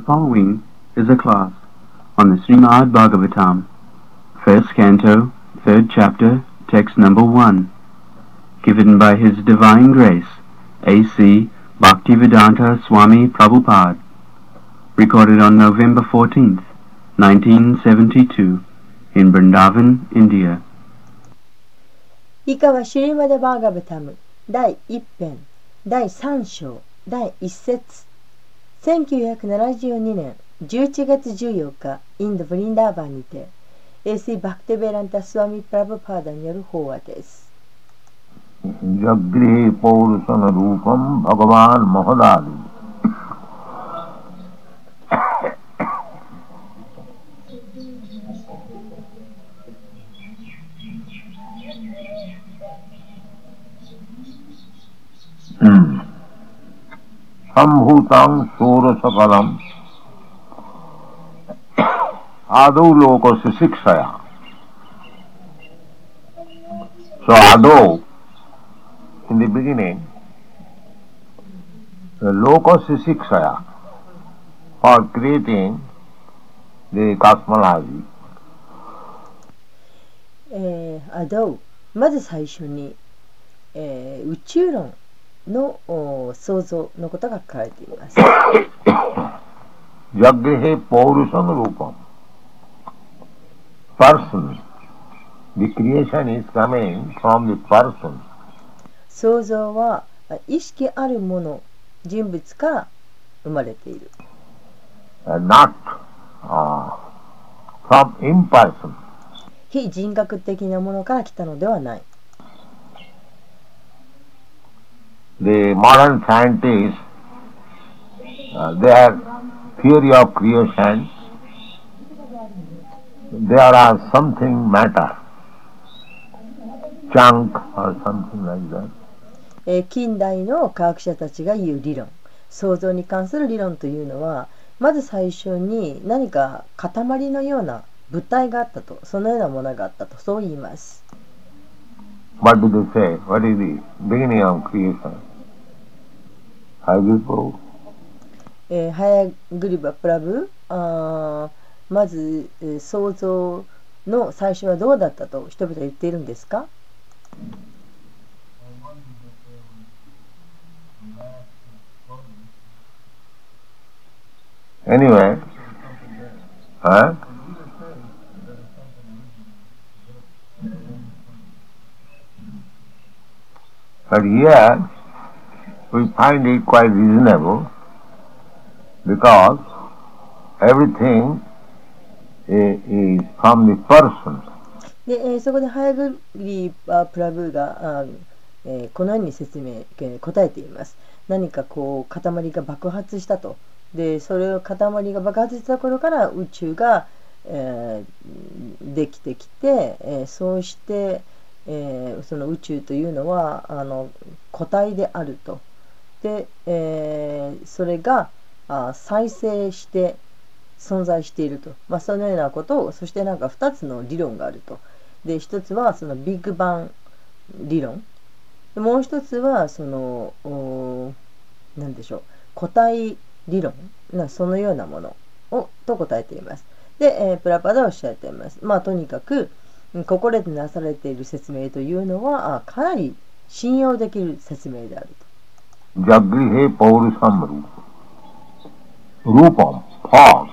following is a class on the Srimad Bhagavatam, first canto, third chapter, text number 1, given by His Divine Grace, A.C. Bhaktivedanta Swami Prabhupada, recorded on November 14th, 1972, in Vrindavan, India. 以下はシュリマダ・バーガブタム第1編第3章第1節1972年11月14日インド・ブリンダーバンにて A.C. バクテベランタ・スワミ・プラブパーダによる法話です。 ジャグリーポールサナルーパンバガバーンマハダーリSambhutam Surasakalam Adu Lokasya Sikshaya. So Adu, in the beginning, the Lokasya Sikshaya for creating the cosmology. アドウ、まず最初に、宇宙論の創造のことが書かれています。 ジャグヘポールサンルーパン person. The creation is coming from the person. 創造は意識あるもの、人物から生まれている。 Not from imperson. 非人格的なものから来たのではない。 The modern scientists, their theory of creation, there are something matter, junk or something like that. 近代の科学者たちが言う理論、創造に関する理論というのは、まず最初に何か塊のような物体があったと、そのようなものがあったと、そう言います。 What do they say? What is the beginning of creation? ハヤグリバプラブ、まず、創造の最初はどうだったと人々は言っているんですか？ Anyway, but here we find it quite reasonable because everything is from the person. で、そこでハヤグリバプラブがこのように答えています。何かこう塊が爆発したと。で、それを塊が爆発した頃から宇宙が、できてきて、そうして、その宇宙というのは固体であると。で、それが再生して存在していると、そのようなことを、そしてなんか2つの理論があると。で、1つはそのビッグバン理論、もう1つはその何でしょう、固体理論、そのようなものをと答えています。で、プラパダはおっしゃっています。とにかくここでなされている説明というのはかなり信用できる説明であると。 ジャグリヘポールサムルルーパン、フォ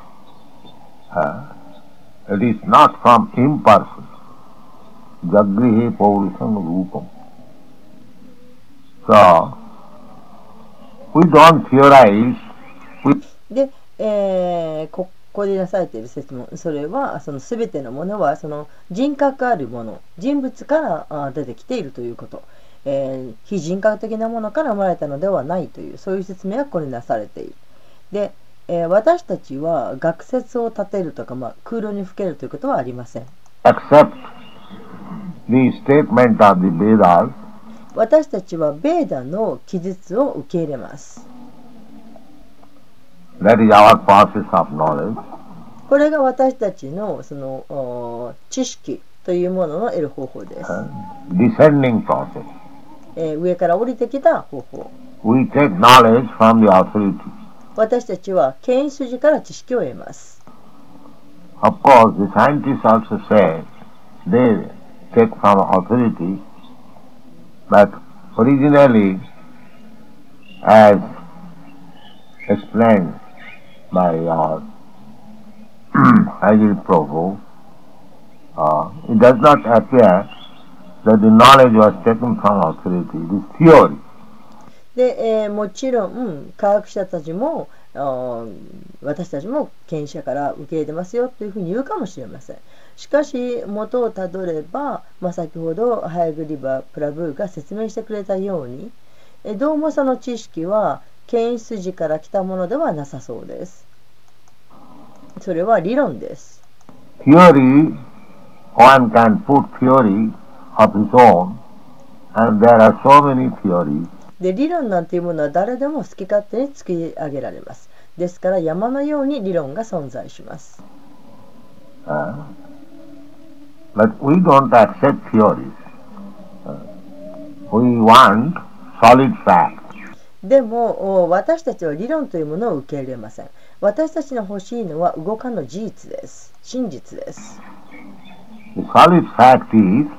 ーム。It is not from imperson. ジャグリヘポールサムルルーパン。So, we don't theorize. で、ここでなされている説問、それはその全てのものはその人格あるもの、人物から出てきているということ。非人格的なものから生まれたのではないという、そういう説明がここになされている。で、私たちは学説を立てるとか、空論にふけるということはありません。 Accept the statement of the Vedas. 私たちはベーダの記述を受け入れます。 That is our process of knowledge. これが私たちのその知識というものの得る方法です。 Descending process. 上から降りてきた方法。 We take knowledge from the authority. 私たちは権威筋から知識を得ます。 Of course, the scientists also say they take from authority, but originally, as explained by our Agil Prabhu, it does not appear that the knowledge was taken from authority. It is theory. で、もちろん科学者たちも私たちも権威者から受け入れてますよというふうに言うかもしれません。しかし元をたどれば、先ほどハヤグリバ・プラブーが説明してくれたように、どうもその知識は権威筋から来たものではなさそうです。それは理論です。 Theory, one can put theory of his own, and there are so many theories. で、理論なんていうものは誰でも好き勝手に作り上げられます。ですから山のように理論が存在します。 But we don't accept theories. We want solid facts. でも私たちは理論というものを受け入れません。私たちの欲しいのは動かぬ事実です。真実です。 The solid fact is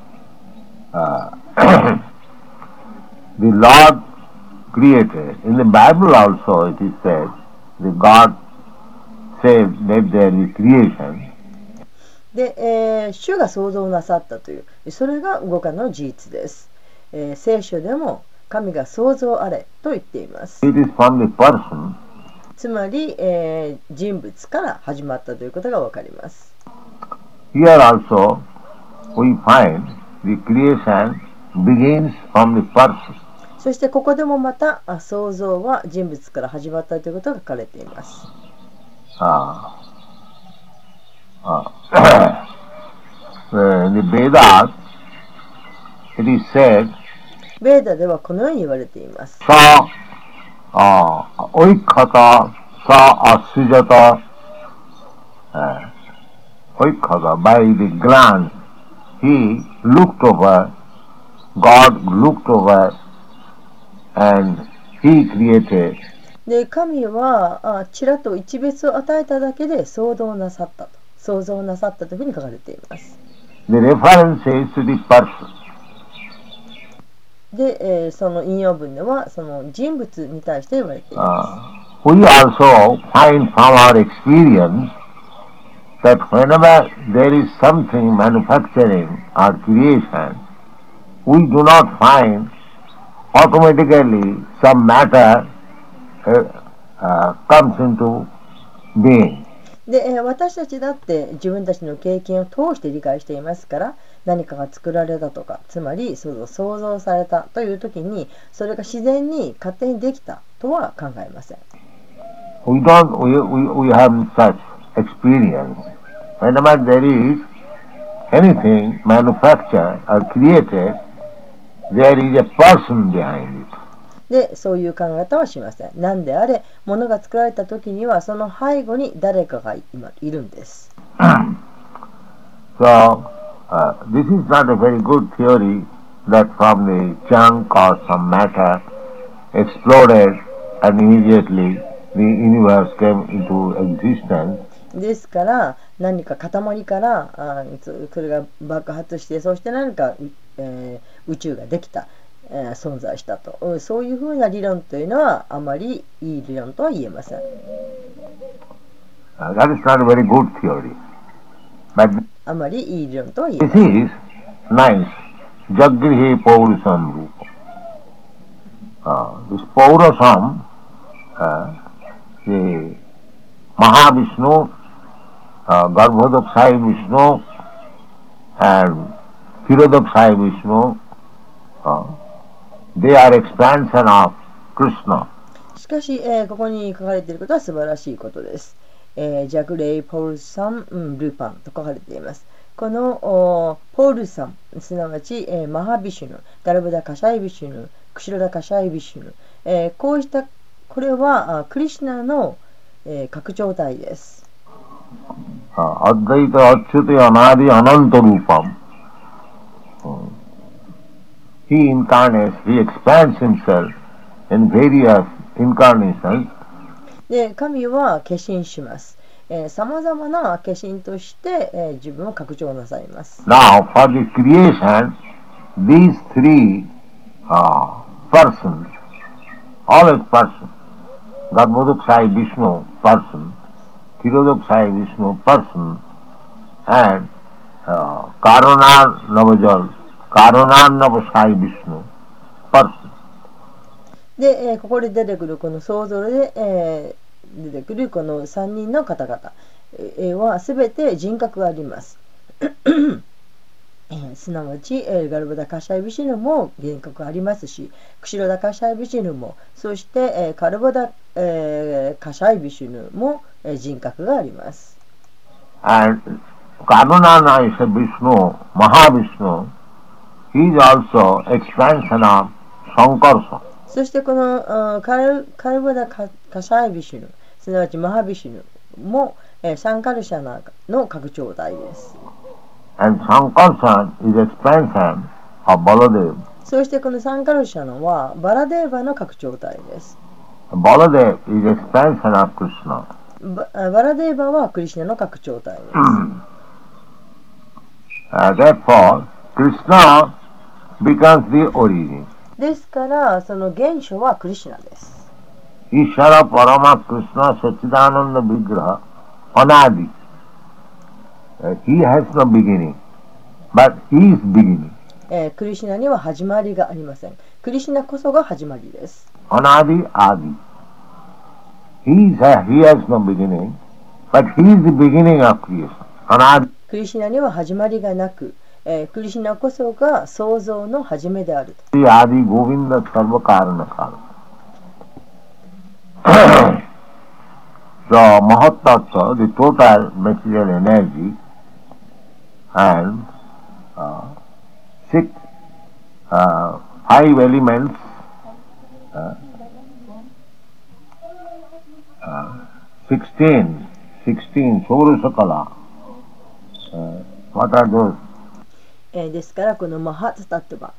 the Lord created. In the Bible also it is said that God said that there is creation. で、主が創造なさったという、それが動かぬ事実です。聖書でも神が創造あれと言っています。 It is from the person. つまり、人物から始まったということがわかります。 Here also we find the creation begins from the person. そしてここでもまた創造は人物から始まったということが書かれています。 The Vedas, it is said, ベーダではこのように言われています。 Sa oikkhata sa asujata oikkhata, by the glance he looked over, God looked over, and he created. で、神はちらっと一別を与えただけで創造なさったというふうに書かれています。 The reference is to the person. で、その引用文ではその人物に対して言われています。We also find from our experience that whenever there is something manufacturing or creation, we do not find automatically some matter comes into being. で、私たちだって自分たちの経験を通して理解していますから、何かが作られたとか、つまり創造されたという時に、それが自然に勝手にできたとは考えません。 We have such experience. Whenever there is anything manufactured or created, there is a person behind it. で、そういう考え方はしません。何であれ、物が作られた時にはその背後に誰かが今いるんです。 So, this is not a very good theory that from the junk or some matter exploded and immediately the universe came into existence. ですから何か塊からそれが爆発して、そして何か、宇宙ができた、存在したと、そういうふうな理論というのはあまりいい理論とは言えません。 That is not a very good theory. But あまりいい理論とは言えま this せん。 is nice. Jagrihe Paurusam Rupa. This Paurusam, the Mahavishnu, Garbhodakshayi Vishnu, and Kshirodakshayi Vishnu, they are expansion of Krishna. しかし、ここに書かれていることは素晴らしいことです。ジャグレイ・ポールサン・ルーパンと書かれています。このポールサン、すなわち、マハビシュヌ、ガルブダ・カシャイビシュヌ、クシロダ・カシャイビシュヌ、こうしたこれはクリシュナの、拡張体です。 アッダイタ・アッチュテ・アナディ・アナント・ルーパン。He incarnates, he expands himself in various incarnations. で、神は化身します。さまざまな化身として、自分を拡張なさいます。 Now, for the creation, these three persons, always person, Garbhodakshayi Vishnu person, Tirodakshayi Vishnu person, and Karunar Navashayi Vishnu person. で、ここで出てくるこの想像で、出てくるこの3人の方々、は全て人格があります。すなわち、ガルバダカシャイビシヌも人格がありますし、クシロダカシャイビシヌも、そして、カルバダ、カシャイビシヌも、人格があります。 And Karunana is a Vishnu, Mahavishnu. He is also expansion of Sankarsa. そしてこのカルバダカシャイビシュヌ、すなわちマハビシュヌも、サンカルシャナの拡張体です。 And Sankarsa is expansion of Baladev. そしてこのサンカルシャナはバラデーバの拡張体です。 Baladev is expansion of Krishna. バラデーバはクリシナの拡張体です。 Therefore, Krishna becomes the origin. ですからその原初はクリシナです。 Ishvara Parama Krishna Sachidananda Vigraha Anadi. He has no beginning, but he is beginning. クリシナには始まりがありません。クリシナこそが始まりです。 Anadi Adi. He has no beginning, but he is the beginning of creation. Anadi. クリシナには始まりがなく、クリシナこそが創造の始めであると。 Adi Govinda Sarva Karana Kara. The Mahatattva, the total material energy, and five elements, 16 Saurasakala. What are those? ですからこのマハツタットバ、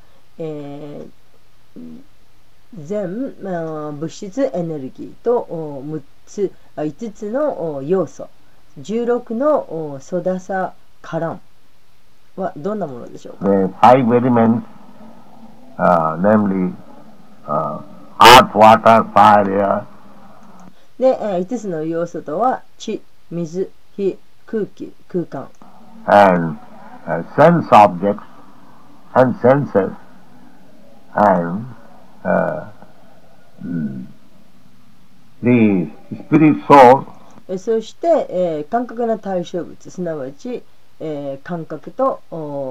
全、物質エネルギーと5つの要素、16のソダサカランはどんなものでしょうか。 The five elements, namely earth, water, fire, air. で、5つの要素とは地、水、火、空気、空間。 And sense objects and senses and the spirit soul. そして、感覚の対象物、すなわち、感覚と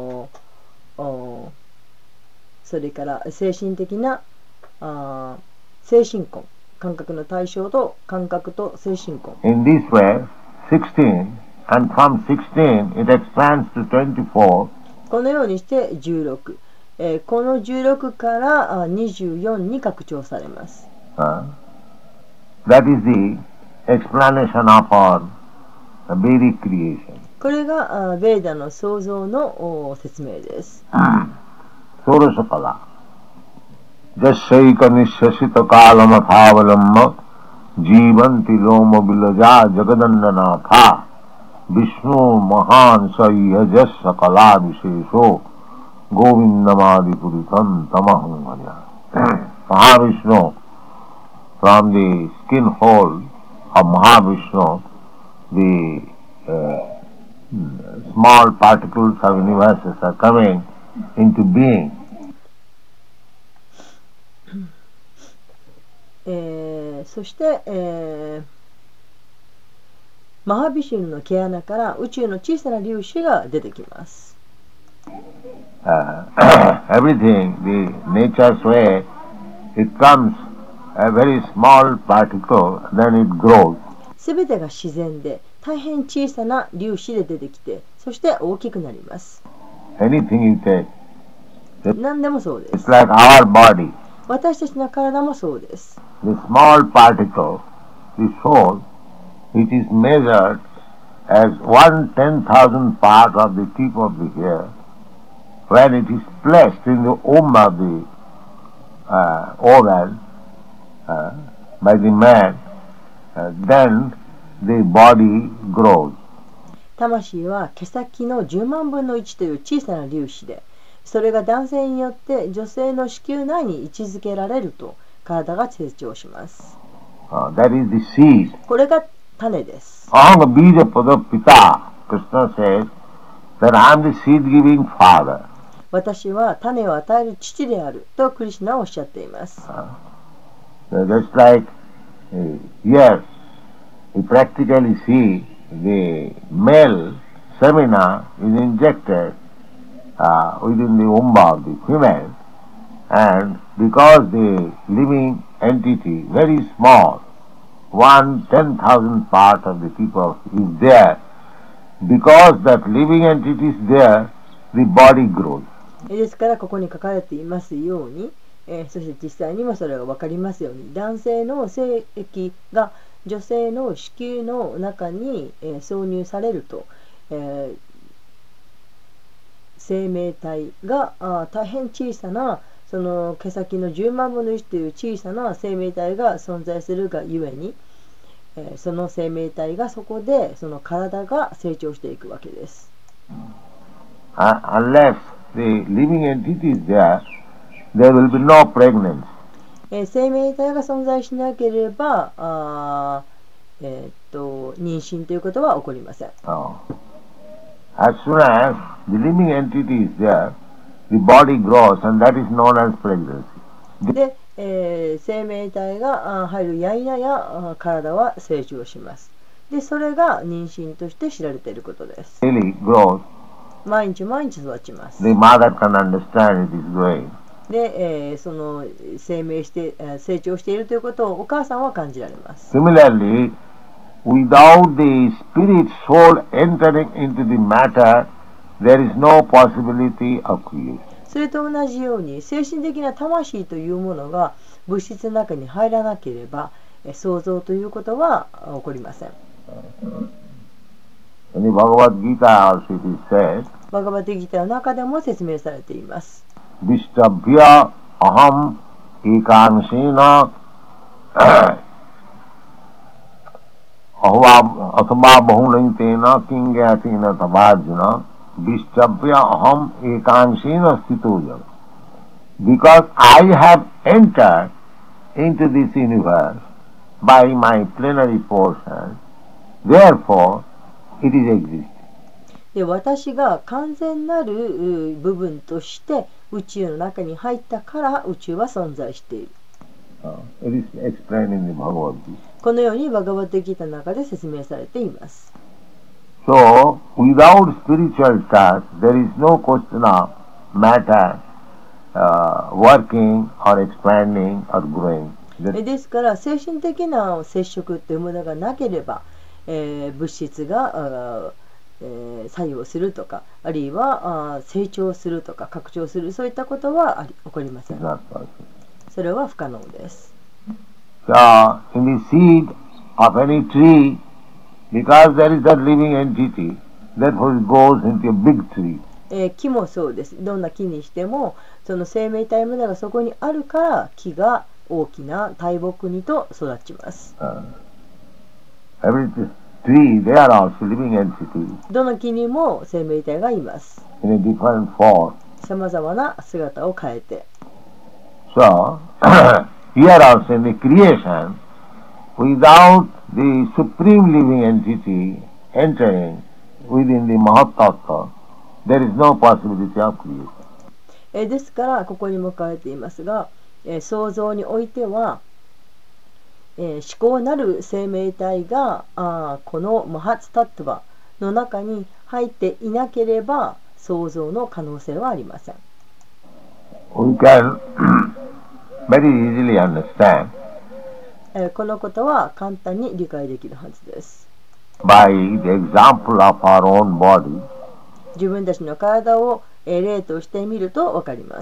それから精神的な精神根、感覚の対象と感覚と精神根。 In this way, 16, and from 16 it expands to 24. このようにして16、この16から24に拡張されます。 That is the explanation of our Vedic creation. これがベーダの創造の説明です。 Surasakala. Jasyaika nishasita kalama phavalamma jivanti loma vilaja jagadandana Vishnu mahan sayyajasya kala vishesho govindamadi puritam tamahanganya. Mahavishnu, from the skin hole of Mahavishnu, the small particles of universes are coming into being. そして、マハビシュヌの毛穴から宇宙の小さな粒子が出てきます。 Everything, the nature's way, it comes a very small particle, then it grows. すべてが自然で大変小さな粒子で出てきて、そして大きくなります。 Anything you take, 何でもそうで it's す。 like our body. 私たちの体もそうです。 The small particle, the soul, it is measured as 1/10,000th part of the tip of the hair. When it is placed in the womb of the woman by the man, then the body grows. 魂は毛先の10万分の1という小さな粒子で、それが男性によって女性の子宮内に位置づけられると体が成長します。 That is the seed. これが種です。 Aham bija pada pita. Krishna says that I am the seed-giving father. 私は種を与える父であるとクリシュナはおっしゃっています。 Just like here, we practically see the male semina is injected within the womb of the female, and because the living entity, very small, 1/10,000 part of the people is there, because that living entity is there, the body grows. ですからここに書かれていますように、そして実際にもそれが分かりますように、男性の精液が女性の子宮の中に、挿入されると、生命体が大変小さなその毛先の10万分の1という小さな生命体が存在するがゆえに、その生命体がそこでその体が成長していくわけです。 Unless the living entity is there, there will be no pregnancy. 生命体が存在しなければ妊娠ということは起こりません。 As soon as the living entity is there, the body grows, and that is known as pregnancy. で、生命体が入るやいなや体は成長します。で、それが妊娠として知られていることです。 Really grows. 毎日毎日育ちます。 The mother can understand it is growing. で、その成長しているということをお母さんは感じられます。 Similarly, without the spirit soul entering into the matter, there is no possibility of creation. それと同じように精神的な魂というものが物質の中に入らなければ創造ということは起こりません。 In the Bhagavad Gita also it is said, バガバテギターの中でも説明されています。 Vishtabhya aham ekansena athva bahulantena kingyatena tabhajana Vishtabhya aham ekansena stito. Because I have entered into this universe by my plenary portion, therefore it is existing. で、私が完全なる部分として宇宙の中に入ったから宇宙は存在している。 It is explained in the Bhagavad Gita. このようにバガバテギターの中で説明されています。 So, without spiritual touch, there is no question of matter working or expanding or growing. ですから精神的な接触というものがなければ、物質が作用するとか、あるいは成長するとか拡張する、そういったことは起こりません。それは不可能です。 So, in the seed of any tree, because there is that living entity, therefore it goes into a big tree. 木もそうです。どんな木にしても、その生命体無駄がそこにあるから木が大きな大木にと育ちます。 Every tree, they are also living entities. どの木にも生命体がいます。 In a different form. さまざまな姿を変えて。 So, here also in the creation, without the supreme living entity entering within the Mahatattva, there is no possibility of creation. ですからここにも書かれていますが、創造においては、思考なる生命体がこのマハツタットヴァの中に入っていなければ創造の可能性はありません。 We can very easily understand このことは簡単に理解できるはずです。 by the example of our own body. 自分たちの体を例としてみるとわかります。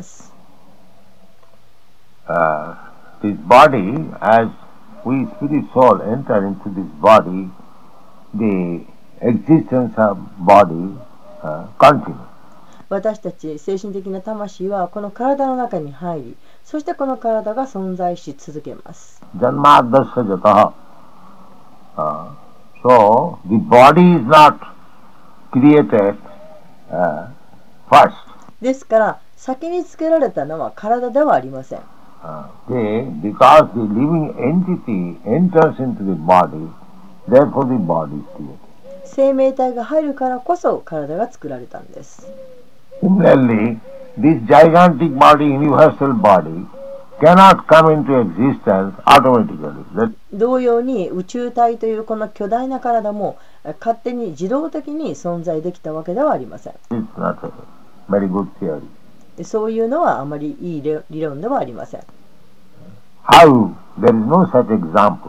This body, as we spirit soul enter into this body, the existence of body continues. 私たち精神的な魂はこの体の中に入り、そしてこの体が存在し続けます。 Janmadasya jataha So the body is not created first. ですから先につけられたのは体ではありません。 Because the living entity enters into the body, therefore the body is created. 生命体が入るからこそ体が作られたんです。 Similarly, this gigantic body, universal body, cannot come into existence automatically. 同様に宇宙体というこの巨大な体も勝手に自動的に存在できたわけではありません。 It's not a very good theory. そういうのはあまりいい理論ではありません。 How? There is no such example.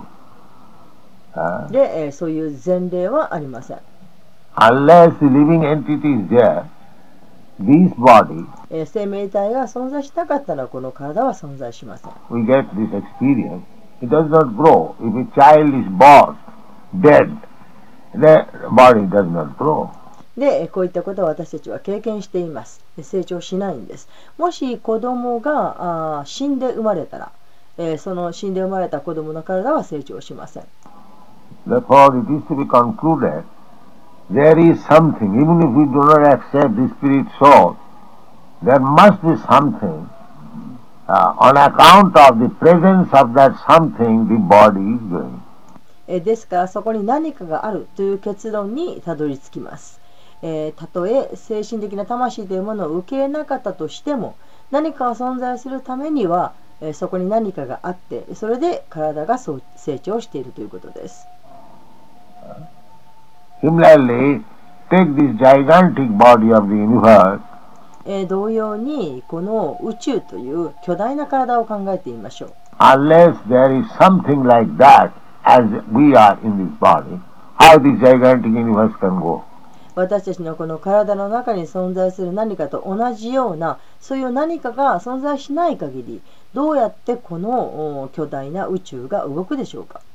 で、そういう前例はありません。 Unless the living entity is there, this body, 生命体が存在しなかったらこの体は存在しません。 we get this experience. It does not grow. If a child is born dead, the body does not grow. で、こういったことを私たちは経験しています。成長しないんです。もし子供が死んで生まれたら、その死んで生まれた子供の体は成長しません。 Therefore, it is to be concluded, there is something, even if we do not accept the spirit soul, there must be something. On account of the presence of that something, the body is going. ですからそこに何かがあるという結論にたどり着きます。たとえ精神的な魂というものを受け入れなかったとしても、何かが存在するためには、そこに何かがあって、それで体が成長しているということです。 Similarly, take this gigantic body of the universe. 同様にこの宇宙という巨大な体を考えてみましょう。 Unless there is something like that as we are in this body, how this gigantic universe can go? 私たちのこの体の中に存在する何かと同じようなそういう何かが存在しない限り、どうやってこの巨大な宇宙が動くでしょうか。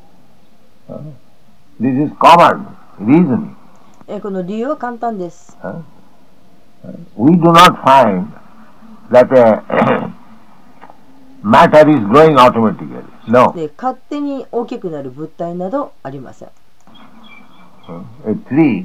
This is common reasoning. この理由は簡単です。 We do not find that matter is growing automatically. No. で、勝手に大きくなる物体などありません。 A tree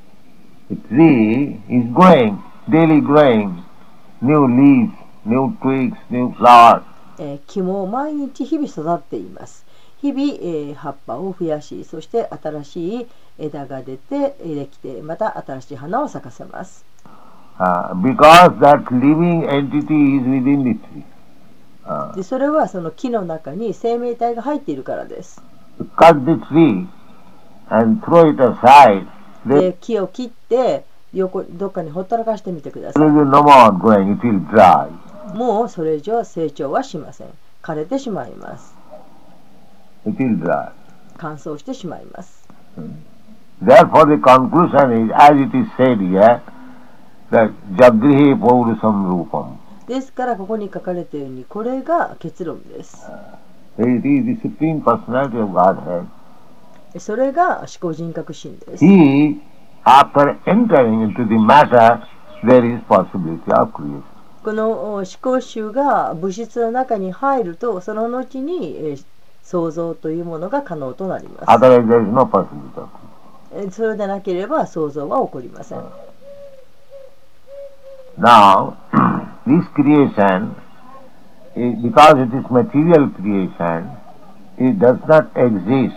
is growing, daily growing, new leaves, new twigs, new flowers. 木も毎日日々育っています。日々、葉っぱを増やし、そして新しい枝ができて、また新しい花を咲かせます。 Because that living entity is within the tree. でそれはその木の中に生命体が入っているからです。 Cut the tree and throw it aside. で木を切ってどっかにほったらかしてみてください。 No more growing, it will dry. もうそれ以上成長はしません。枯れてしまいます。 It will dry. 乾燥してしまいます。 Therefore the conclusion is, as it is said here, that Jagrihe Paurusam Rupam. ですからここに書かれているようにこれが結論です。 It is the Supreme Personality of Godhead. それが思考人格心です。 He, after entering into the matter, there is possibility of creation. この思考集が物質の中に入ると、その後に創造というものが可能となります。 Otherwise there is no possibility of creation. それでなければ創造は起こりません。 Now, this creation, because it is material creation, it does not exist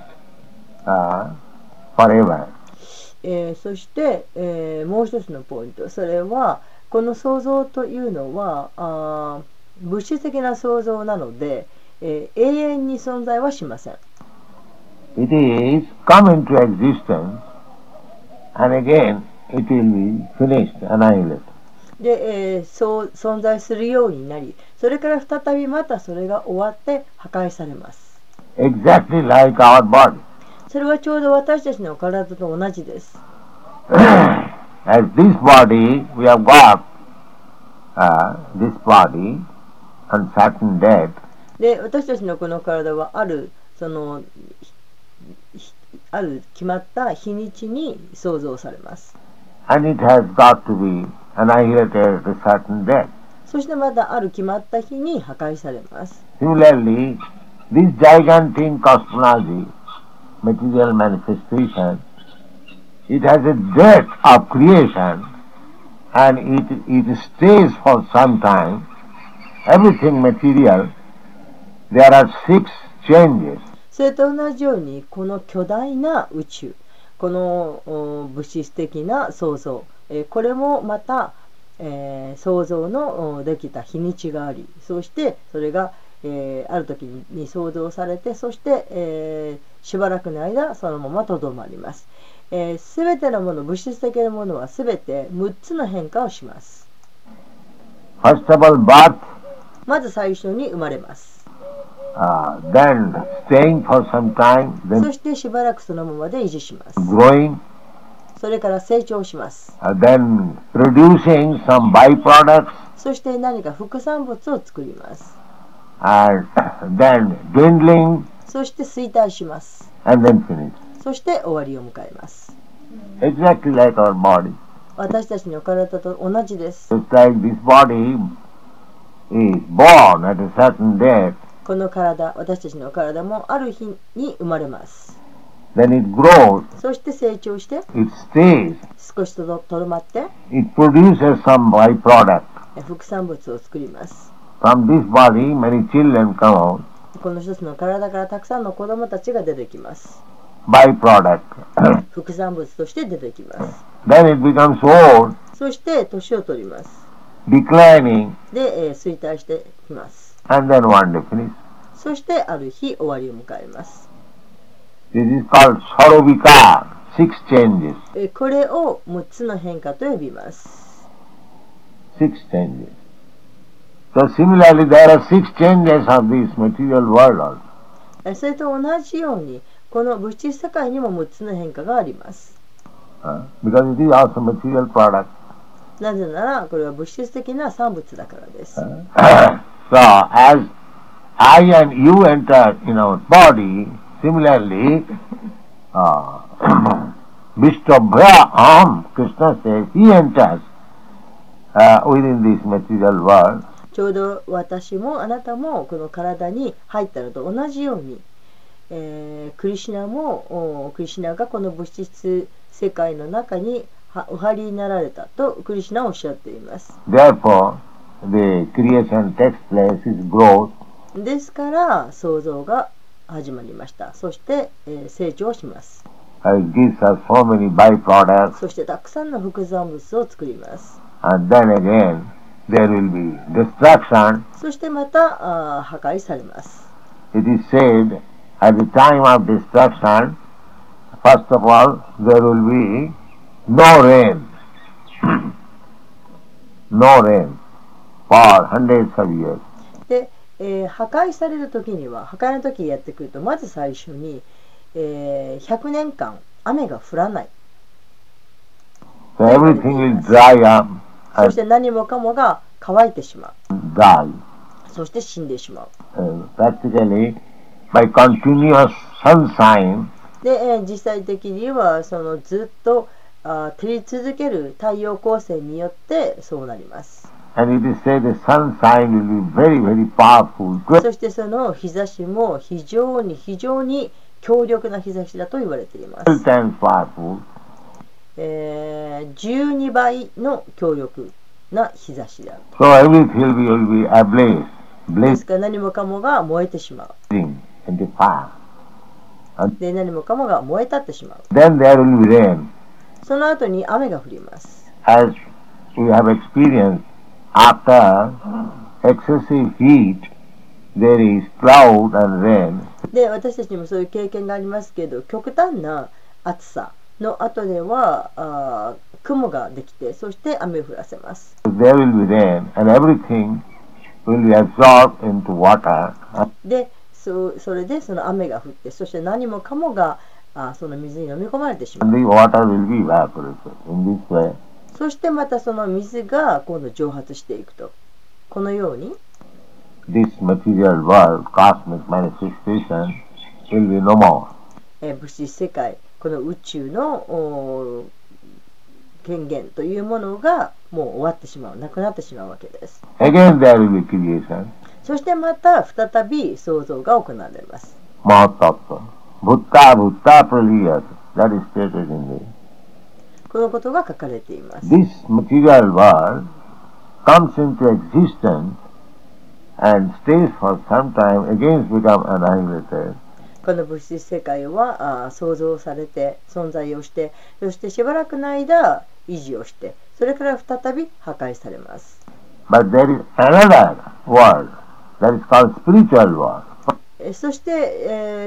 forever. そして、もう一つのポイント、それはこの創造というのは物質的な創造なので、永遠に存在はしません。 It is come into existence and again it will be finished, annihilated. で、そう存在するようになり、それから再びまたそれが終わって破壊されます。 Exactly like our body. それはちょうど私たちの体と同じです。 As this body, we have got this body on certain date. で、私たちのこの体はある決まった日にちに創造されます。 And it has got to be annihilated at a certain date. そしてまたある決まった日に破壊されます。 Similarly, this gigantic cosmology material manifestation, it has a death of creation and it stays for some time. Everything material, there are 6 changes. それと同じようにこの巨大な宇宙、この物質的な創造、これもまた、創造のできた日にちがあり、そしてそれが、ある時に創造されて、そして、しばらくの間そのままとどまります。すべてのもの、物質的なものはすべて6つの変化をします。 First of all, birth, まず最初に生まれます。 then staying for some time, そ then してしばらくそのままで維持します。 growing, それから成長します。 then producing some byproducts, そして何か副産物を作ります。 and then dwindling, そして衰退します。 and then finish. そして終わりを迎えます。 Exactly like our body. 私たちの体と同じです。 Just like this body is born at a certain date, この体、私たちの体もある日に生まれます。 then it grows, そして成長して、 it stays, 少しとどまって、 it produces some byproduct. 副産物を作ります。 From this body, many children come out, この一つの体からたくさんの子供たちが出てきます。 byproduct. 副産物として出てきます。 Then it becomes old, そして年を取ります。 declining, で、衰退してきます。 and then one day finish. そしてある日終わりを迎えます。 This is called Sarovika, 6 changes. これを6つの変化と呼びます。 6 changes. So similarly, there are 6 changes of this material world also. それと同じように、この物質世界にも6つの変化があります。 Because it is also material product. なぜなら、これは物質的な産物だからです。 So as I and you enter in our body, similarly, Vishtobhya, Krishna says, he enters within this material world. ちょうど私もあなたもこの体に入ったのと同じように、クリシュナがこの物質世界の中にお入りになられたとクリシュナはおっしゃっています。 Therefore, the creation takes place, is growth. ですから創造が始まりました。そして、成長します。 It gives us so many byproducts, そしてたくさんの副産物を作ります。 and then again there will be destruction. そしてまた破壊されます。 It is said at the time of destruction, first of all, there will be no rain. No rain for hundreds of years. で、破壊される時には、破壊の時やってくると、まず最初に、100年間雨が降らない。 So everything will dry up そして何もかもが乾いてしまう。 and die. そして死んでしまう。 Practically, by continuous sunshine, で、実際的にはそのずっと照り続ける太陽光線によってそうなります。 and it is said the sunshine will be very, very powerful. そしてその日差しも非常に強力な日差しだと言われています。 12 times powerful. 12倍の強力な日差しである。 So everything will be ablaze, ですから何もかもが燃えてしまう。 blazing in the fire. で、何もかもが燃え立ってしまう。 Then there will be rain. その後に雨が降ります。 As we have experienced, after excessive heat, there is cloud and rain. で、私たちにもそういう経験がありますけど、極端な暑さの後では雲ができて、そして雨を降らせます。 There will be rain and everything will be absorbed into water. で、それでその雨が降って、そして何もかもがその水に飲み込まれてしまう。 And the water will be evaporated. In this way, そしてまたその水が今度蒸発していくと。このように、 this material world, cosmic manifestation, will be no more. 物質世界、この宇宙の権限というものがもう終わってしまう、なくなってしまうわけです。 Again there will be creation. そしてまた再び創造が行われます。 Mahatattva. bhutta bhutta praliyat. That is stated in the. このことが書かれています。 This material world comes into existence and stays for some time, again become annihilated. この物質世界は創造されて存在をして、そしてしばらくの間維持をして、それから再び破壊されます。 But there is another world that is called spiritual world. そして、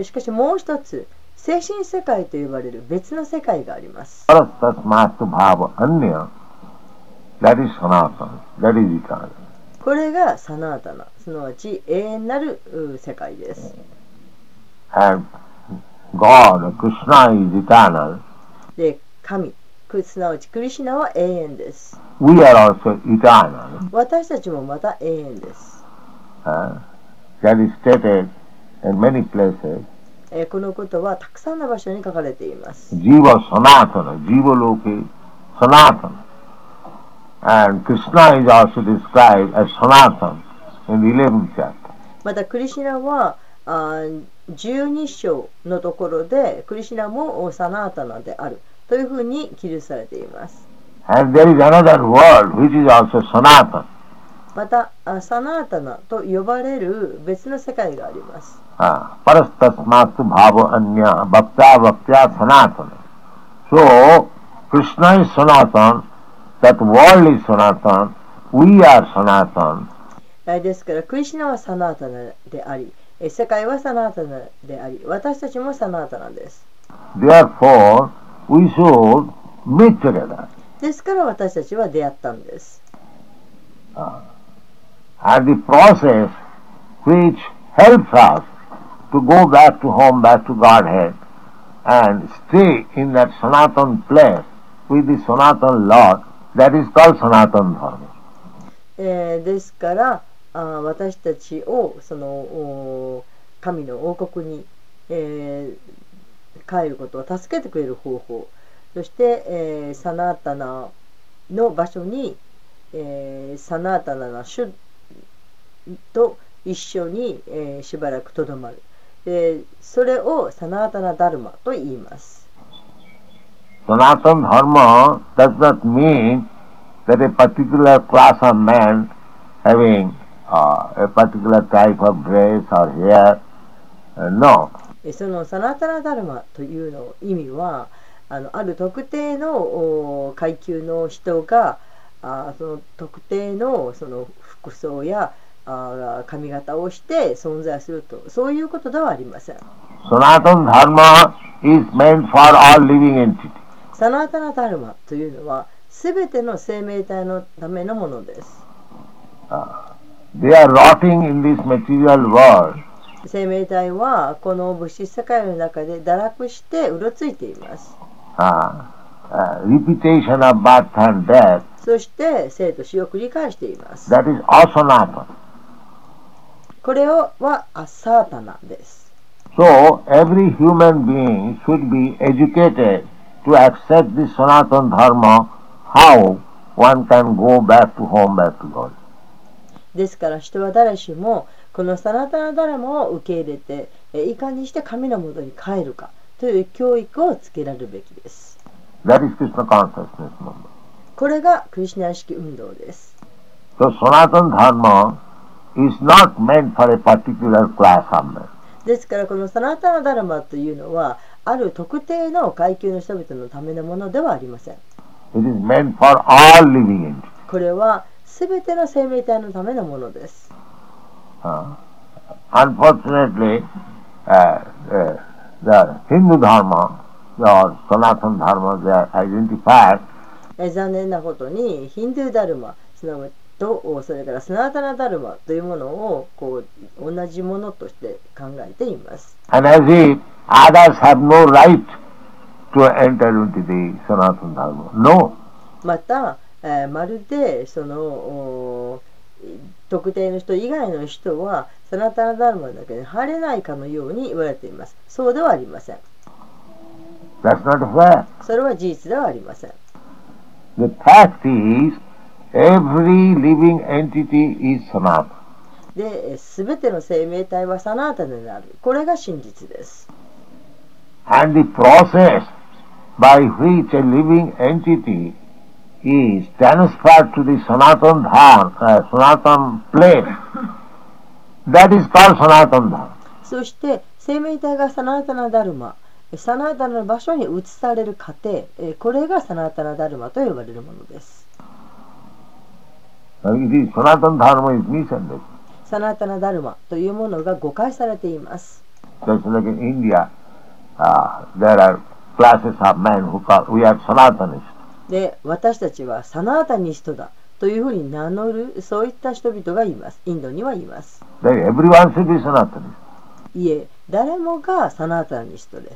しかしもう一つ精神世界と呼ばれる別の世界があります。 Parastasmastu bhava anya, that is sanatana, that is eternal. これがサナータナ、すなわち永遠なる世界です。 And God, Krishna is eternal. で、神、すなわちクリシュナは永遠です。 We are also eternal. 私たちもまた永遠です。 That is stated in many places. このことはたくさんの場所に書かれています。 Jiva Sanatana, Jiva Loke Sanatana. And Krishna is also described as Sanatana in the 11th chapter. またクリシュナは12章のところでクリシュナもサナータナであるというふうに記述されています。 And there is another world which is also Sanatana. またサナータナと呼ばれる別の世界があります。 Parastasmastu bhava anya bhakta bhaktya sanatana. So, Krishna is Sanatana, that world is Sanatana, we are Sanatana. ですからクリシュナはサナータナであり、世界はサナータナであり、私たちもサナータナです。 Therefore, we should meet together. ですから私たちは出会ったんです。 And the process which helps us to go back to home, back to Godhead, and stay in that Sanatan place with the Sanatan Lord, that is called Sanatan Dharma. ですから私たちをその神の王国に、帰ることを助けてくれる方法、そして、サナータナの場所に、サナータナの主と一緒に、しばらくとどまる。それをサナータナダルマと言います。 Sanatan Dharma does not mean that a particular class of men having a particular type of dress or hair. No. そのサナータナダルマというの意味はある特定の階級の人がその特定のその服装や髪型をして存在すると、そういうことではありません。 Sanatana Dharma is meant for all living entities. サナータナダルマというのはすべての生命体のためのものです。 They are rotting in this material world. 生命体はこの物質世界の中で堕落してうろついています。 Repetition of birth and death. そして生と死を繰り返しています。 That is asanatana. これはアサータナです。 So every human being should be educated to accept this Sanatana Dharma, how one can go back to home, back to God. ですから人は誰しもこのサナタナダラマを受け入れていかにして神のもとに帰るかという教育をつけられるべきです。 That is Krishna consciousness movement. これがクリシュナ意識運動です。 So Sanatana Dharma is not meant for a particular class of men. ですからこのサナタナダラマというのはある特定の階級の人々のためのものではありません。 It is meant for all living entities. これはすべての生命体のためのものです。 Unfortunately, the Hindu Dharma or Sanatana Dharma, they are identified. 残念なことにヒンドゥーダルマすなわちとそれからサナタナダルマというものをこう同じものとして考えています。 And as if others have no right to enter into the Sanatana Dharma. No. また、まるでその特定の人以外の人はサナタナダルマだけで入れないかのように言われています。そうではありません。 That's not fair. それは事実ではありません。 The fact is, every living entity is Sanatana. で、すべての生命体はサナータナである。これが真実です。 and the process by which a living entity is transferred to the Sanatan Dharma, Sanatan place, that is called Sanatan Dharma. そして生命体がサナータナダルマ、サナータナの場所に移される過程、これがサナータナダルマと呼ばれるものです。 It is Sanatan Dharma is misunderstood. サナータナダルマというものが誤解されています。 Just like in India, there are classes of men who call, we are Sanatanists. で、私たちはサナータニストだというふうに名乗る、そういった人々がいます。インドにはいます。 Everyone should be Sanatanist. いえ、誰もがサナータニストです。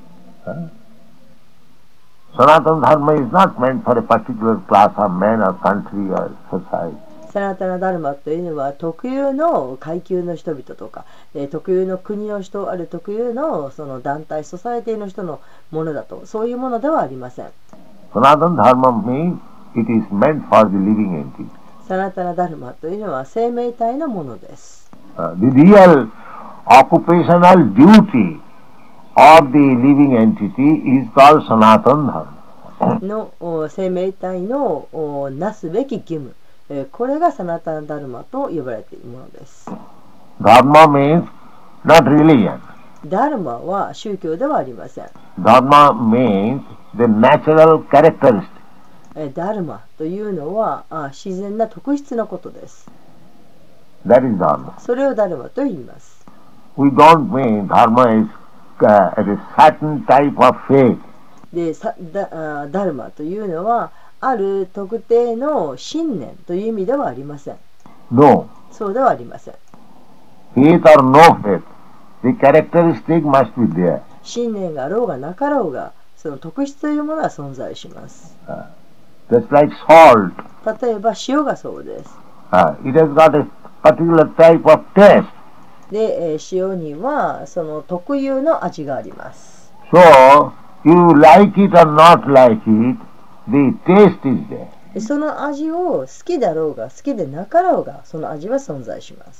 Sanatana Dharma is not meant for a particular class of men or country or society. サナータナダルマというのは特有の階級の人々とか、特有の国の人、ある特有のその団体、ソサエティの人のものだと、そういうものではありません。 Sanatana Dharma means it is meant for the living entity. サナータナダルマというのは生命体のものです。 The real occupational duty of the living entity is called Sanatana Dharma. の生命体のなすべき義務、これがサナタナダルマと呼ばれているものです。 Dharma means not religion. ダルマは宗教ではありません。 Dharma means the natural characteristic. ダルマというのは自然な特質のことです。 That is Dharma. それをダルマと言います。 We don't mean Dharma is a certain type of faith. でダルマというのはある特定の信念という意味ではありません。 No. そうではありません。 Faith or no faith, the characteristic must be there. 信念があろうがなかろうが、その特質というものは存在します。 Just like salt. 例えば塩がそうです。 It has got a particular type of taste. で、塩にはその特有の味があります。 So, you like it or not like it, the taste is there. その味を好きだろうが好きでなかろうが、その味は存在します。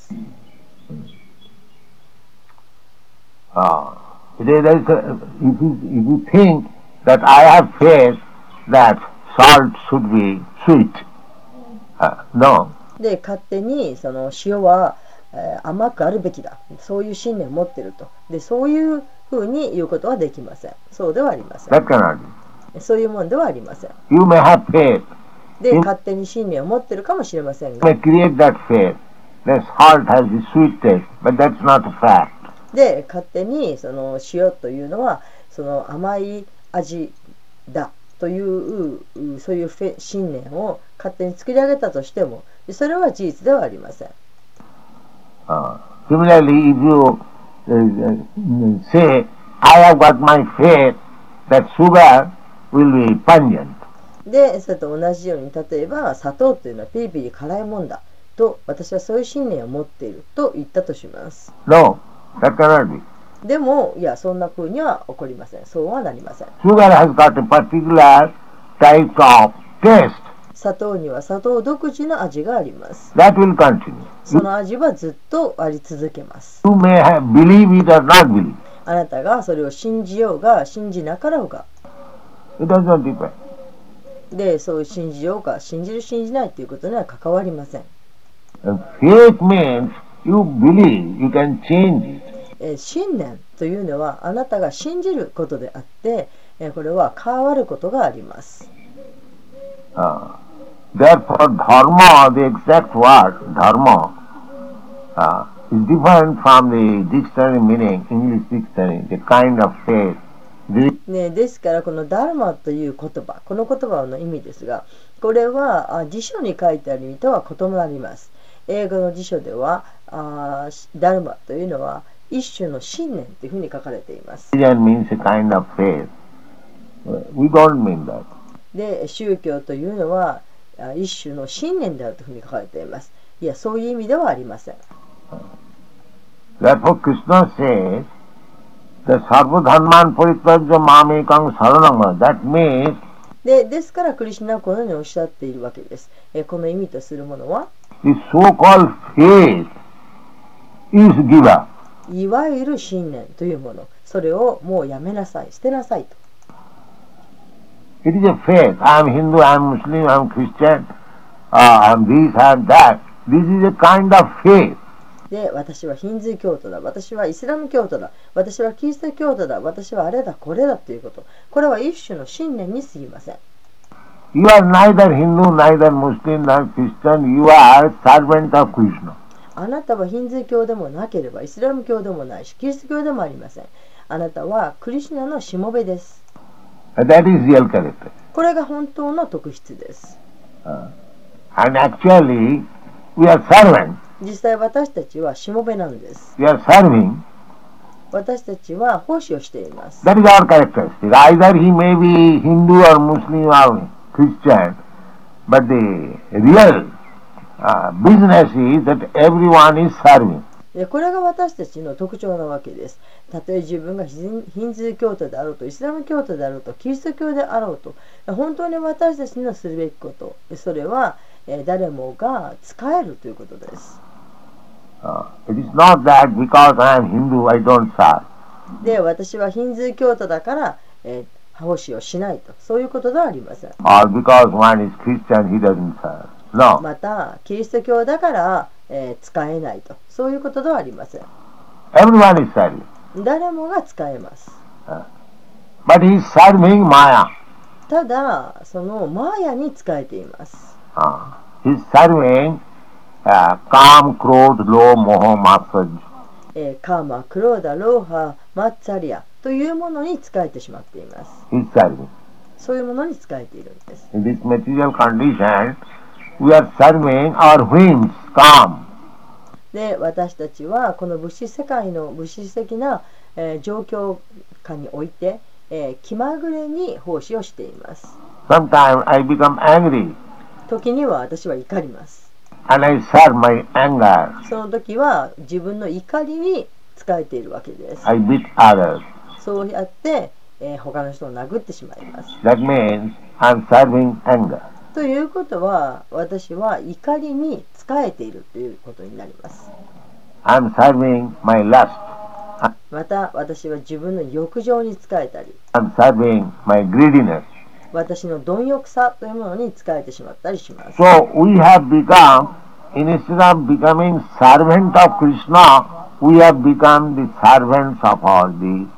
If you think that I have faith that salt should be sweet, no. で、勝手にその塩は甘くあるべきだ、そういう信念を持っていると。で、そういうふうに言うことはできません。そうではありません。 That cannot be. そういうものではありません。 You may have faith. で、勝手に信念を持っているかもしれません You が、 may create that faith that salt has the sweet taste, but that's not a fact. で、勝手にその塩というのはその甘い味だというそういう信念を勝手に作り上げたとしても、それは事実ではありません。 Similarly, if you say, I have got my faith that sugar will be pungent. で、それと同じように、例えば砂糖というのはピリピリ辛いもんだと、私はそういう信念を持っていると言ったとします。 No, that cannot be. でも、いや、そんな風には起こりません。そうはなりません。 Sugar has got a particular type of taste. 砂糖には砂糖独自の味があります。 That will continue. その味はずっとあり続けます。 You may believe it or not believe. あなたがそれを信じようが信じなかろうが、 It does not depend. で、そう信じようか信じる信じないということには関わりません。 And faith means you believe, you can change it. 信念というのはあなたが信じることであって、これは変わることがあります。 Therefore, dharma, the exact word dharma, is different from the dictionary meaning, English dictionary, the kind of faith. ね、ですからこのダルマという言葉、この言葉の意味ですが、これは辞書に書いてある意味とは異なります。英語の辞書ではダルマというのは一種の信念というふうに書かれています。 Religion means a kind of faith. We don't mean that. で、宗教というのは一種の信念であるというふうに書かれています。いや、そういう意味ではありません。 Therefore, Krishna says, the sarvadharman parityajya mamekang saranam. That means ですからクリシュナはこのようにおっしゃっているわけです。この意味とするものは、 the so-called faith is giver. いわゆる信念というもの、それをもうやめなさい、捨てなさいと。 It is a faith. I am Hindu, I am Muslim, I am Christian, I am this, I am that. This is a kind of faith. で、私はヒンズー教徒だ、私はイスラム教徒だ、私はキリスト教徒だ、私はあれだこれだということ、これは一種の信念に過ぎません。 You are neither Hindu, neither Muslim, nor Christian. You are servant of Krishna. あなたはヒンズー教でもなければイスラム教でもないしキリスト教でもありません。あなたはクリシュナのしもべです。 That is real character. これが本当の特質です。 And actually, we are servants. 実際私たちはしもべなんです。 We are serving. 私たちは奉仕をしています。 That is our characteristic. Either he may be Hindu or Muslim or Christian, but the real business is that everyone is serving. これが私たちの特徴なわけです。たとえ自分がヒンズー教徒であろうとイスラム教徒であろうとキリスト教であろうと、本当に私たちのするべきこと、それは誰もが使えるということです。 It is not that because I am Hindu I don't serve. で、私はヒンズー教徒だから、奉仕をしないと、そういうことではありません。 Or because one is Christian he doesn't serve. No. また、キリスト教だから、使えないと、そういうことではありません。 Everyone is serving. 誰もが使えます。 But he is serving Maya. ただ、そのマーヤに使えています。 He is serving Kam, Krodh, Lobh, Moh, Matsarya. カーマ、クローダ、ローハ、マッツァリアというものに使えてしまっています。 He is serving. そういうものに使えているんです。 In this material condition, we are serving our whims, Kam. で、私たちはこの物質世界の物質的な、状況下において、気まぐれに奉仕をしています。 Sometimes I become angry 時には私は怒ります。 and I serve my anger. その時は自分の怒りに使えているわけです。 I beat others. そうやって、他の人を殴ってしまいます。 That means I'm serving anger. ということは、私は怒りに使えているということになります。 I'm serving my lust. また、私は自分の欲情に使えたり、 I'm serving my greediness. 私の貪欲さというものに使えてしまったりします。 So we have become, instead of becoming servant of Krishna, we have become the servants of all these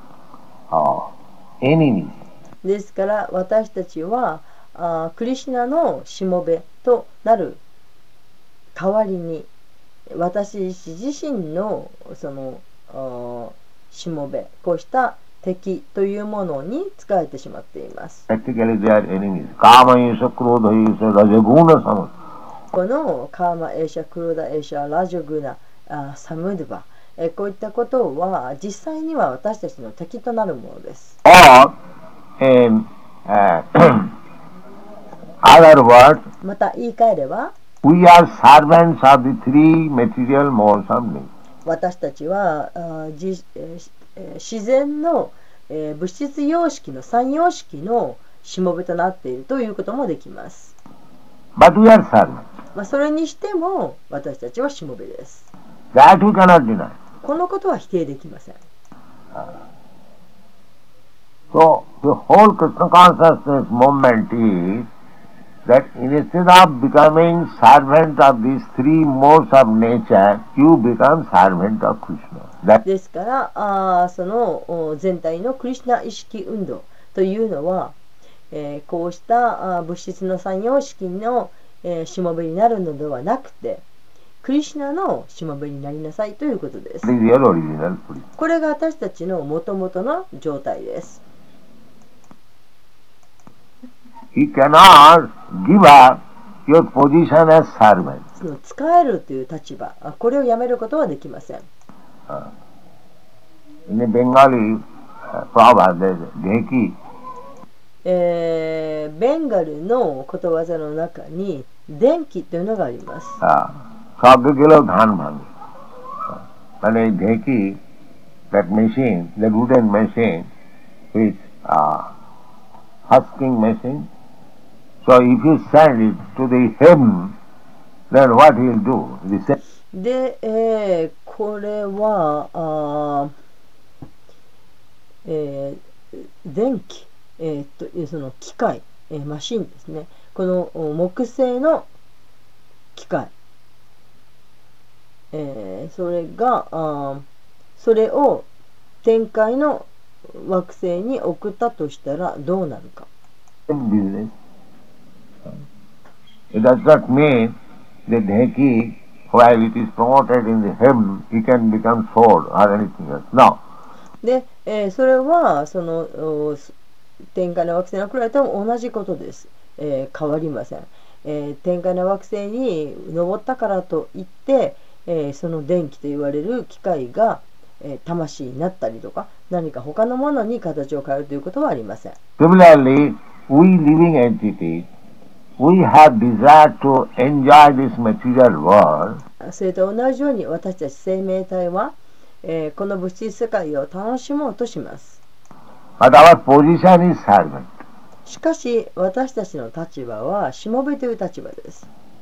enemies. ですから私たちはクリシュナのしもべとなる代わりに私自身のそのしもべ、こうした敵というものに使えてしまっています。 Practically they are enemies. Kama yesha krodha yesha rajaguna samad. このカーマエーシャクロダエーシャラジョグナサムドゥバ、こういったことは実際には私たちの敵となるものです。 Or in other words, また言い換えれば、 we are servants of the three material modes of nature. 私たちは自然の、物質様式の三様式のしもべとなっているということもできます。 But we are servants. それにしても私たちはしもべです。 That we cannot deny. このことは否定できません。 So the whole Krishna consciousness movement is that instead of becoming servant of these three modes of nature, you become servant of Krishna. That ですからその全体のクリシュナ意識運動というのは、こうした物質の三様式の、しもべになるのではなくてクリシュナのしもべになりなさいということです。 is your original position. これが私たちの元々の状態です。 He cannot give up your position as servant. その使えるという立場、これをやめることはできません。 In a Bengali proverb, there is Dheki. ベンガルのことわざの中に電気というのがあります。 Sabbe gelo dhan bhange. মানে Dheki, that machine, the wooden machine, is husking machine. So if you send it to the heaven, then what he will do? で、 これは電気、その機械、マシンですね。この木製の機械、それがそれを天界の惑星に送ったとしたらどうなるか。 business. It does not mean that Dheki, while it is promoted in the heaven, he can become sword or anything else. No. で、それはその天界の惑星に送られても同じことです。変わりません。天界の惑星に登ったからといって、その電気と言われる機械が、魂になったりとか何か他のものに形を変えるということはありません。 Similarly, we living entities, we have desire to enjoy this material world. それと同じように私たち生命体は、この物質世界を楽しもうとします。 But our position is servant. しかし私たちの立場はしもべという立場です。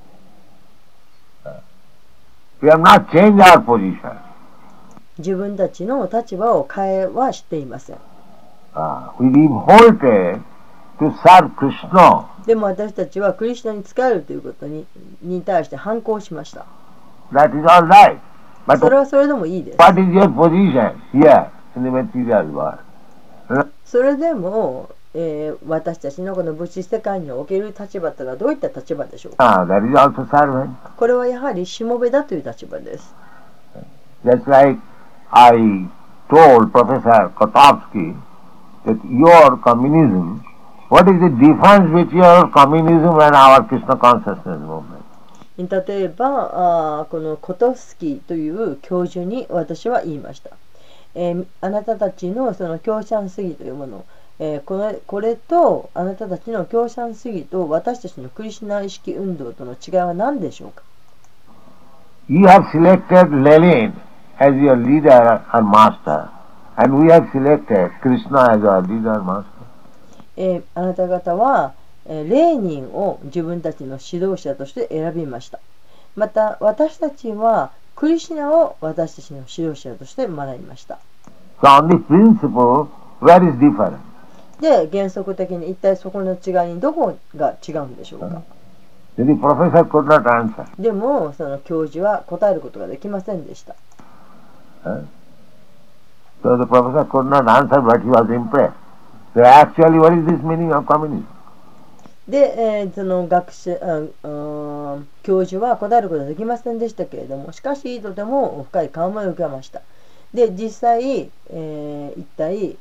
We have not changed our position. 自分たちの立場を変えはしていません。 We revolted to serve Krishna. でも私たちはクリシュナに仕えるということに対して反抗しました。 That is all right. そ But れはそれでもいいです。 what is your position here in the material world? それでも、私たちのこの物質世界における立場というのはどういった立場でしょうか。 That is also servant. これはやはりしもべだという立場です。 Just like I told Professor Kotovsky that your communism, what is the difference between your communism and our Krishna consciousness movement? 例えばこのコトフスキーという教授に私は言いました。あなたたちのその共産主義というもの、これとあなたたちの共産主義と私たちのクリシュナ意識運動との違いは何でしょうか。 You have selected Lenin as your leader or master, and we have selected Krishna as our leader or master. あなた方はレーニンを自分たちの指導者として選びました。また私たちはクリシュナを私たちの指導者として学びました。 So on the principle, where is difference? で、原則的に一体そこの違いにどこが違うんでしょうか。 The professor could not answer. でもその教授は答えることができませんでした。 So the professor could not answer, but he was impressed. So actually, what is this meaning of communism? で、その教授は答えることができませんでしたけれども、しかしとても深い感銘を受けました。で、実際、一体、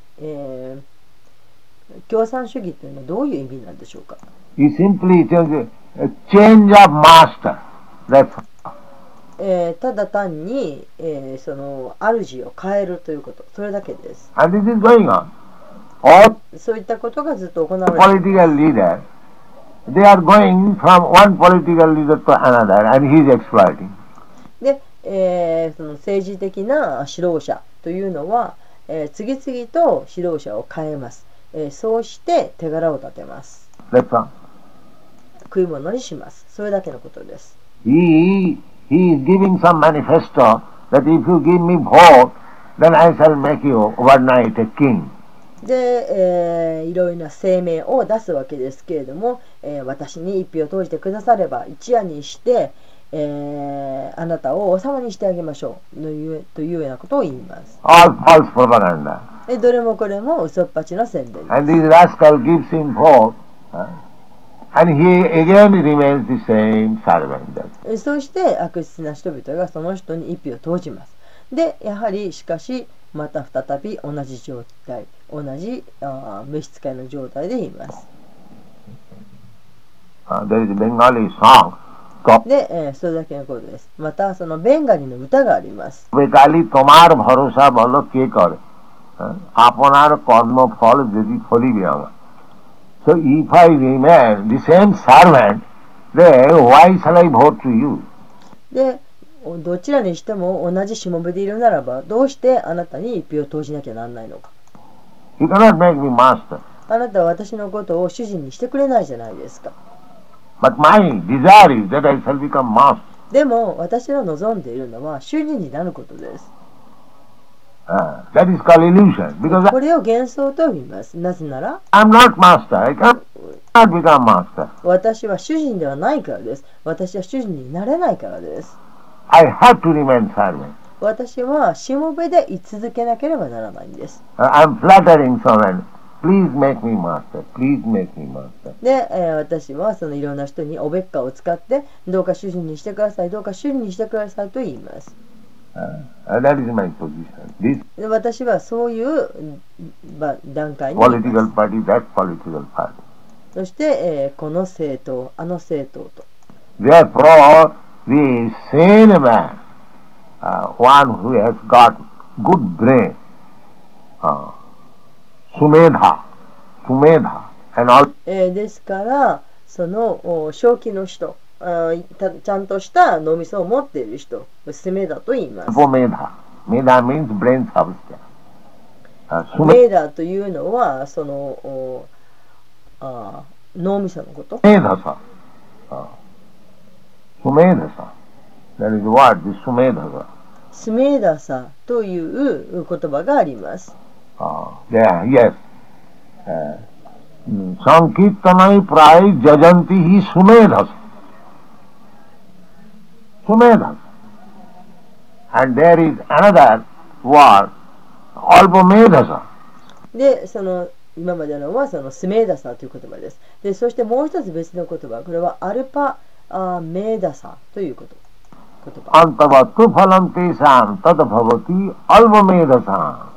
共産主義というのはどういう意味なんでしょうか。 He simply tells a change of master. That's all. ただ単に、その主を変えるということ、それだけです。 And this is going on. All そういったことがずっと行われています。 political leaders, they are going from one political leader to another, and he is exploiting. で、その政治的な指導者というのは、次々と指導者を変えます。そうして手柄を立てます。 That's all. 食い物にします。それだけのことです。 He is giving some manifesto that if you give me vote, then I shall make you overnight a king. で、いろいろな声明を出すわけですけれども、私に一票を投じてくだされば一夜にして、あなたを王様にしてあげましょうというようなことを言います。 All false propaganda. どれもこれも嘘っぱちの宣伝です。 And this rascal gives him vote, and he again remains the same servant. そして悪質な人々がその人に一票を投じます。で、やはりしかしまた再び同じ状態、同じ召使いの状態でいます。 There is a Bengali song. で、それだけのことです。またそのベンガリの歌があります。 বেকালি তোমার ভরসা বলো কে করে আপনার কর্মফল যদি ফলিবে আমার. So if I remain the same servant, then why shall I vote to you? で、どちらにしても同じしもべでいるならば、どうしてあなたに一票を投じなきゃならないのか。 You cannot make me master. あなたは私のことを主人にしてくれないじゃないですか。 But my desire is that I shall become master. でも私の望んでいるのは主人になることです。 That is called illusion. Because これを幻想と呼びます。なぜなら I am not master. I cannot become master. 私は主人ではないからです。私は主人になれないからです。 I have to remain servant. 私はしもべで居続けなければならないんです。 I am flattering someone. Please make me master. Please make me master. で、私はそのいろんな人におべっかを使ってどうか主人にしてください、どうか主人にしてくださいと言います。 That is my position. This で私はそういう段階にいます。 political party, that political party. そして、この政党、あの政党と。 Therefore, the sane man, one who has got good brain, Sumedha, and all. ですからその正気の人、ちゃんとした脳みそを持っている人、スメダと言います。 Medha means brain substance. メーダというのはその脳みそのこと。 Sumedhasa. Sumedhasa. That is the word, the Sumedhasa. スメーダサという言葉があります。 There, yes. Sankirtanai prai jajanti hi Sumedhasa. Sumedhasa. And there is another word, Alpamedhasa. で、その今までのはそのスメーダサという言葉です。で、そしてもう一つ別の言葉、これはアルパメーダサという言葉。 Antavattu phalantesam tadbhavati alvamedhasam.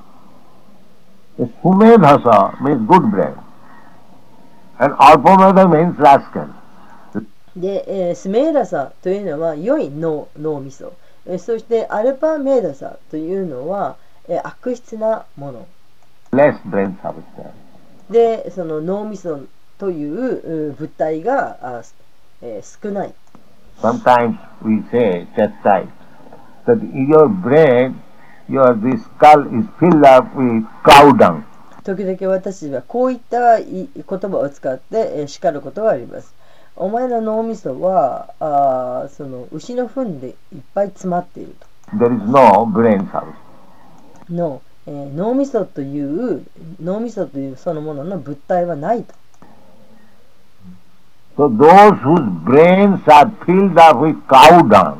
Sumedhasa means good brain. And alpamedha means rascal. で、スメーダサというのは良い脳みそ。そしてアルパメーダサというのは悪質なもの。 Less brain substance. で、その脳みそという物体が少ない。 Sometimes we say, chastise, that in your brain, this skull is filled up with cow dung. 時々私はこういった言葉を使って叱ることがあります。お前の脳みそはその牛の糞でいっぱい詰まっていると。 There is no brain substance. 脳みそというそのものの物体はないと。 So those whose brains are filled up with cow dung,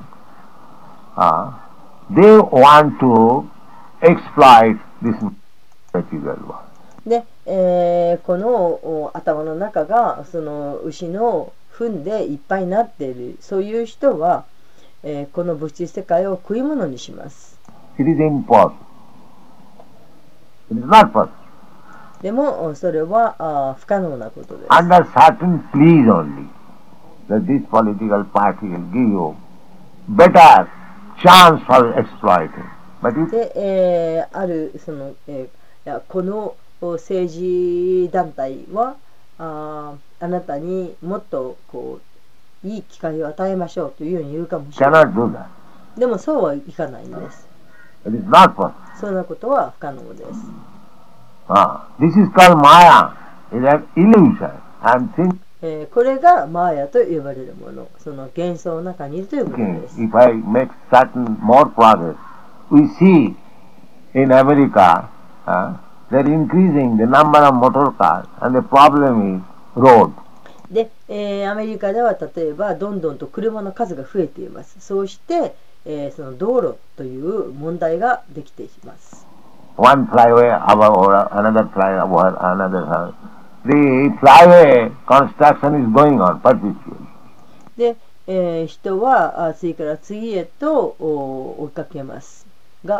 they want to exploit this material world. で、この頭の中がその牛の糞でいっぱいになっている、そういう人は、この物質世界を食い物にします。 It is impossible. It is not possible. でもそれは不可能なことです。 Under certain pleas only, that this political party will give you better chance for exploiting. But if で、あるその、この政治団体はあなたにもっとこういい機会を与えましょうというように言うかもしれない。 cannot do that. でもそうはいかないんです。 It is not possible. そんなことは不可能です。 This is called Maya. It is an illusion. And think, これがマーヤと呼ばれるもの、その幻想の中にいるということです。 if I make certain more progress, we see in America they're increasing the number of motor cars, and the problem is road. で、アメリカでは例えばどんどんと車の数が増えています。そうして、その道路という問題ができています。 One flyway over another flyway over another. The flyway construction is going on perpetually. で、人は次から次へと追いかけますが、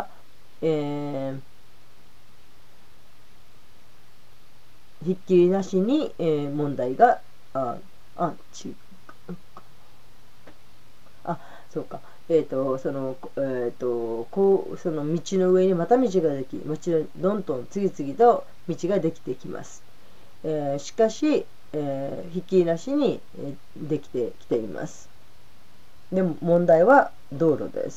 ひっきりなしに、問題がそうか。そのその道の上にまた道ができ、どんどん次々と道ができてきます。しかし、ひっきりなしにできてきています。でも問題は道路です。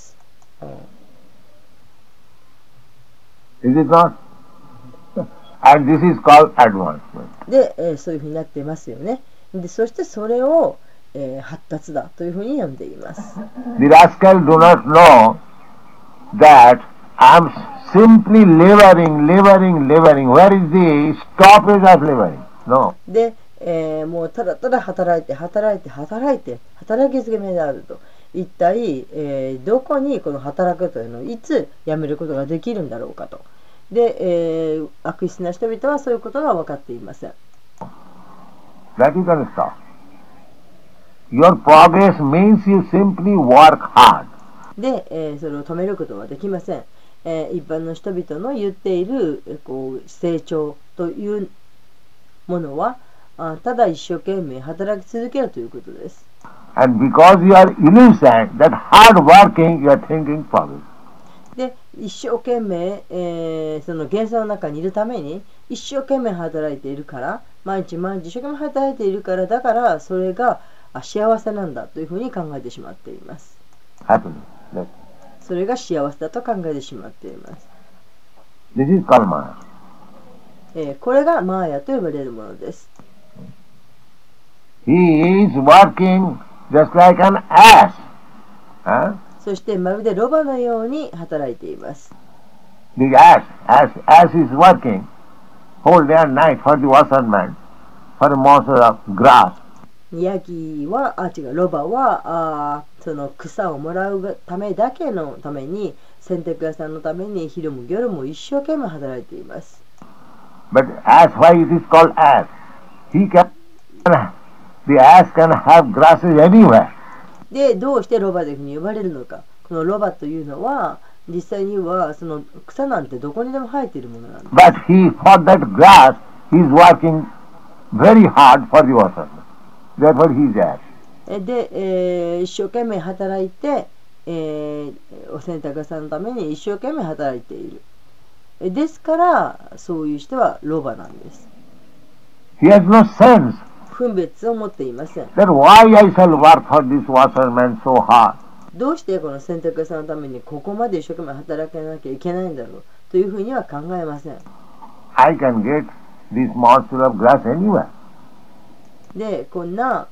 Is it not? And this is called advancement. で、そういうふうになっていますよね。で、そしてそれを、 発達だというふうに読んでいます。 The rascal do not know that I am simply laboring. Where is the stoppage of laboring? No. で、もうただただ働いて働き続けめであると。一体、どこにこの働くというのをいつやめることができるんだろうかと。で、悪質な人々はそういうことが分かっていません。 That you can stop. Your progress means you simply work hard. で、それを止めることはできません。一般の人々の言っている成長というものはただ一生懸命働き続けるということです。 And because you are innocent, that hard working, you are thinking progress. で、一生懸命、その幻想の中にいるために一生懸命働いているから、毎日一生懸命働いているから、だからそれが幸せなんだというふうに考えてしまっています。 Happiness. それが幸せだと考えてしまっています。 This is called Maya. これがマーヤと呼ばれるものです。 He is working just like an ass. そしてまるでロバのように働いています。 The ass is working whole day and night for the washerman, for a morsel of grass. ヤギは、ロバはその草をもらうためだけのために、洗濯屋さんのために昼も夜も一生懸命働いています。 But ass, why it is called ass? The ass can have grasses anywhere. で、どうしてロバというふうに呼ばれるのか。このロバというのは、実際にはその草なんてどこにでも生えているものなんです。 But for that grass, he is working very hard for the washerman. Therefore he is ass. で、一生懸命働いて、お洗濯屋さんのために一生懸命働いている。ですから、そういう人はロバなんです。 He has no sense. 分別を持っていません。 That why I shall work for this washerman so hard. どうしてこの洗濯屋さんのためにここまで一生懸命働かなきゃいけないんだろうというふうには考えません。 I can get this morsel of grass anywhere. で、こんな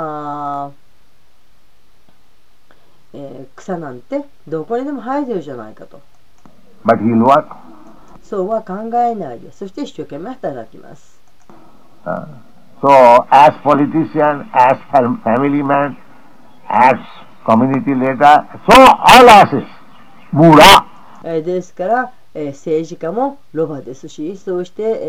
草なんてどこにでも生えてるじゃないかと。 But he will work. そうは考えないで、そして一生懸命働きます。 So, as politician, as family man, as community leader, so all asses, Mura. ですから、政治家もロバですし、そうして、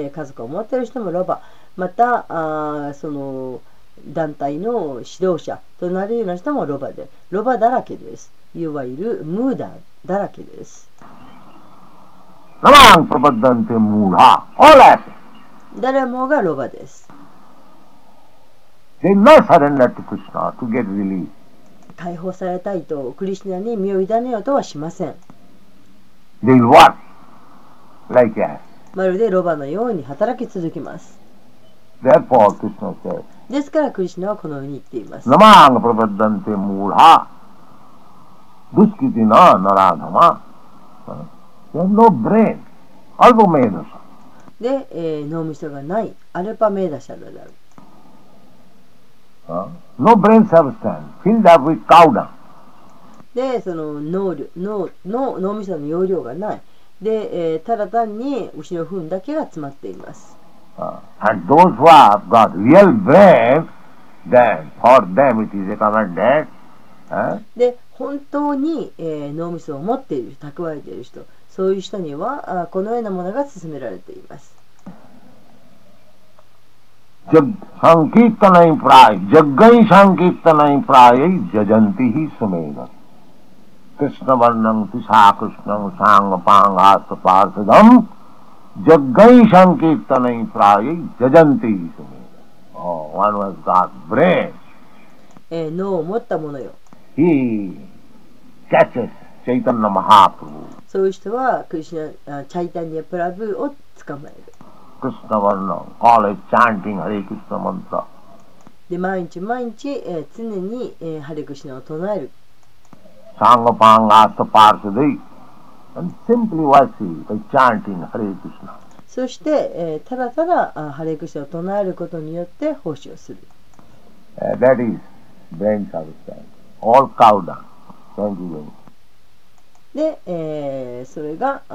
家族を持っている人もロバ、またその団体の指導者となるような人もロバで、ロバだらけです。いわゆるムーダだらけです。 Namang prapaddante Mura, all asses. 誰もがロバです。 They will not surrender to Krishna to get relief. 解放されたいとクリシュナに身を委ねようとはしません。 They will work like ass. まるでロバのように働き続けます。 Therefore, Krishna says, ですからクリシュナはこのように言っています。 Namang prapaddante Mura, duskitina naradhama. They have no brain, alpamedasa. で、脳みそがないアルパメーダシャルである。 No brain substance, filled up with cow dung. で、その脳みその容量がない。で、ただ単に牛の糞だけが詰まっています。 And those who have got real brain, then for them it is recommended. で、本当に、脳みそを持っている、蓄えている人、そういう人にはこのようなものが勧められています。 Sankirtanai pray, Jaggai Sankirtanai pray, Jajanti hi sumeda. Krishna varnam tisa Krishnam sangapanga parsadam, Jaggai Sankirtanai pray, Jajanti hi sumeda. Oh, one was got brain. 脳を持ったものよ。 He catches Chaitanya Mahaprabhu. そういう人はクリシュナ、チャイタニアプラブを捕まえる。 Krishna Varna, always chanting Hare Krishna mantra. で、毎日、常に、ハレクシナを唱える。 Sangapanga Parsadai, and simply worship by chanting Hare Krishna. そして、ただただハレクシナを唱えることによって奉仕をする。 That is brain substance, all cow dung. Thank you very much. で、それが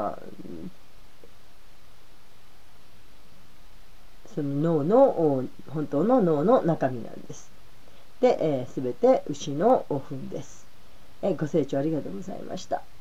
その脳の本当の脳の中身なんです。で、すべて牛の糞です。ご清聴ありがとうございました。